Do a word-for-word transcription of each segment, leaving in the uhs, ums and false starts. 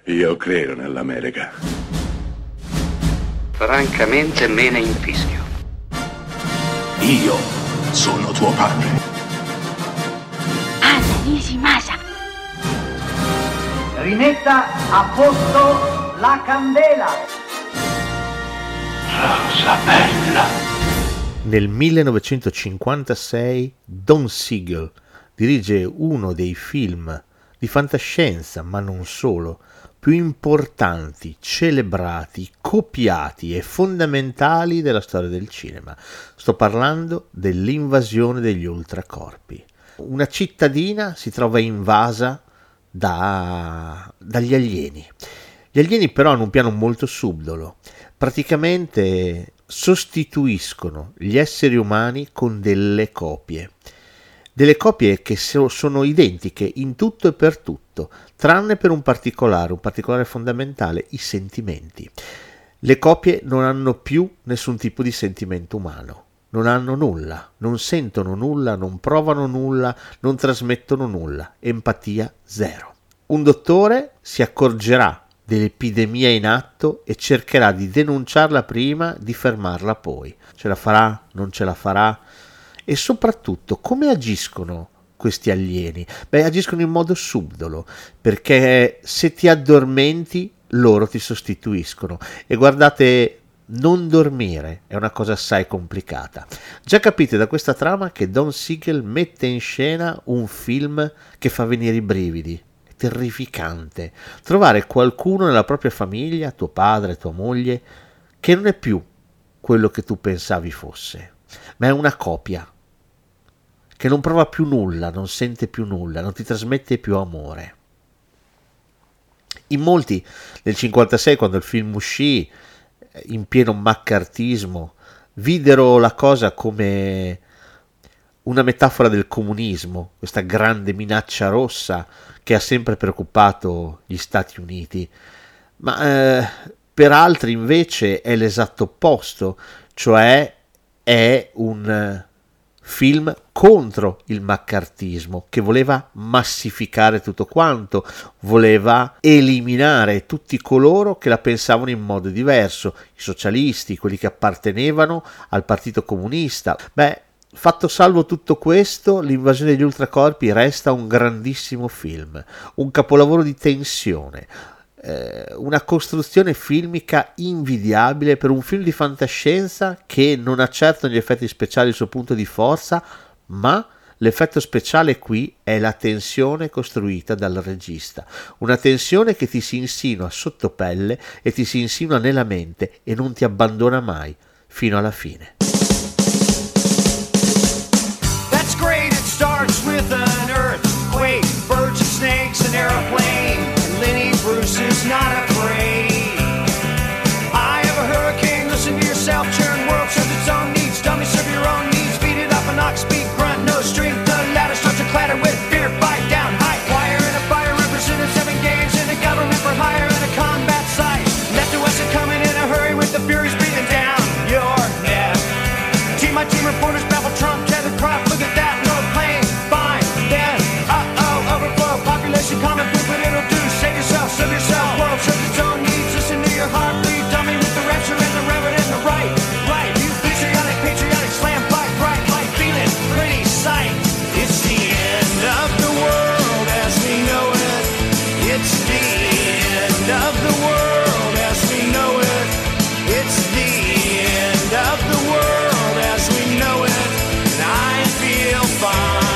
Io credo nell'America. Francamente me ne infischio. Io sono tuo padre. Anna Nishimasa. Rimetta a posto la candela. Rosa bella. Nel millenovecentocinquantasei Don Siegel dirige uno dei film di fantascienza, ma non solo, più importanti, celebrati, copiati e fondamentali della storia del cinema. Sto parlando dell'Invasione degli Ultracorpi. Una cittadina si trova invasa da, dagli alieni. Gli alieni però hanno un piano molto subdolo. Praticamente sostituiscono gli esseri umani con delle copie. Delle copie che sono identiche in tutto e per tutto, tranne per un particolare, un particolare fondamentale, i sentimenti. Le copie non hanno più nessun tipo di sentimento umano, non hanno nulla, non sentono nulla, non provano nulla, non trasmettono nulla, empatia zero. Un dottore si accorgerà dell'epidemia in atto e cercherà di denunciarla prima, di fermarla poi. Ce la farà? Non ce la farà? E soprattutto, come agiscono questi alieni? Beh, agiscono in modo subdolo, perché se ti addormenti, loro ti sostituiscono. E guardate, non dormire è una cosa assai complicata. Già capite da questa trama che Don Siegel mette in scena un film che fa venire i brividi. È terrificante. Trovare qualcuno nella propria famiglia, tuo padre, tua moglie, che non è più quello che tu pensavi fosse, ma è una copia, che non prova più nulla, non sente più nulla, non ti trasmette più amore. In molti nel cinquantasei, quando il film uscì, in pieno maccartismo, videro la cosa come una metafora del comunismo, questa grande minaccia rossa che ha sempre preoccupato gli Stati Uniti. Ma eh, per altri invece è l'esatto opposto, cioè è un film contro il maccartismo, che voleva massificare tutto quanto, voleva eliminare tutti coloro che la pensavano in modo diverso, i socialisti, quelli che appartenevano al Partito Comunista. Beh, fatto salvo tutto questo, l'Invasione degli Ultracorpi resta un grandissimo film, un capolavoro di tensione, una costruzione filmica invidiabile per un film di fantascienza che non ha certo negli effetti speciali il suo punto di forza, ma l'effetto speciale qui è la tensione costruita dal regista, una tensione che ti si insinua sotto pelle e ti si insinua nella mente e non ti abbandona mai fino alla fine. That's great, it starts with an earthquake, birds and snakes, an airplane. Lenny Bruce is not afraid. I have a hurricane, listen to yourself, churn, world serves its own needs, dummy serve your own needs, beat it up an ox, speak, grunt, no strength, the ladder starts to clatter with fear, bite down, high wire in a fire, represented seven games in a government for hire in a combat site, left to us and coming in a hurry with the furies breathing down your neck. Team my team reporters baffle Trump, tether crop, look at that, no plane, fine, then, uh-oh, overflow, population common poop, but it'll do. Save yourself, serve yourself, world serves its own needs. Listen to your heartbeat, dummy with the rapture and the reverend and the right, right. You patriotic, patriotic, slam, fight, bright, light, feeling, pretty sight. It's the end of the world as we know it. It's the end of the world as we know it. It's the end of the world as we know it. And I feel fine.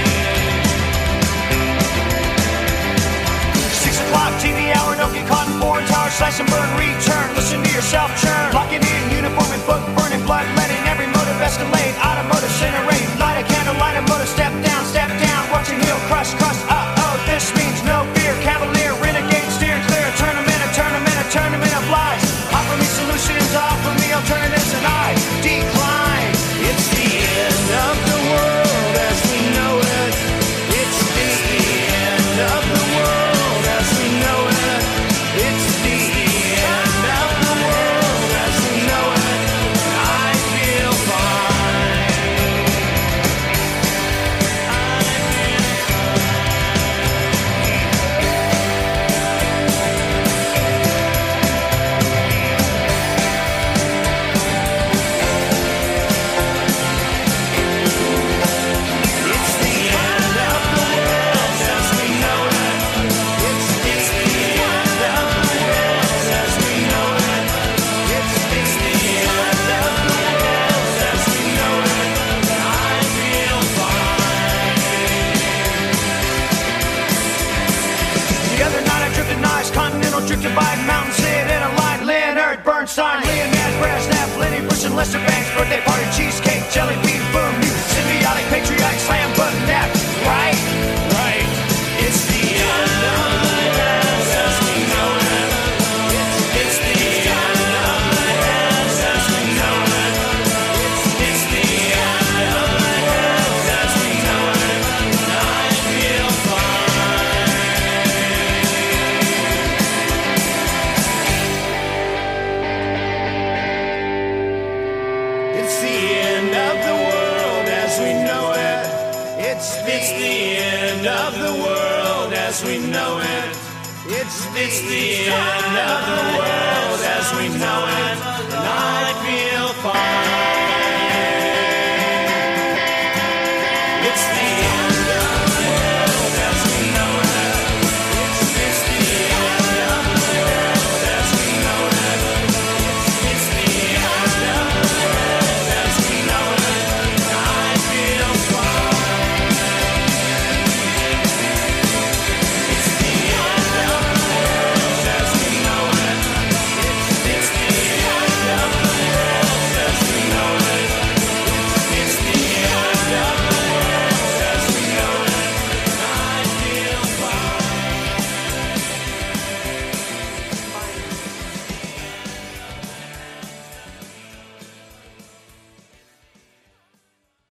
T V hour, don't get caught in foreign tower, slash and burn, return, listen to yourself churn, lock it in, uniform and book, burning blood, letting every motive escalate, automotive incinerate, light a candle, light a motive, step down, step down, watch your heel crush, crush, uh-oh, this means no fear, cavalier, renegade, steer clear, a tournament, a tournament, a tournament of lies, offer me solutions, offer me alternatives, and I decline. It's the end of the world as we know it. It's the end of the world. jelly bean boom, you symbiotic, patriotic, slam button nap, right? Right. It's the end of the world as we know it. It's the end of the world as we know it. It's the end of the world as we know it. I feel fine. It's the end of the world as we know it. It's it's the end of the world as we know it. It's it's the end of the world as we know it. And I feel fine.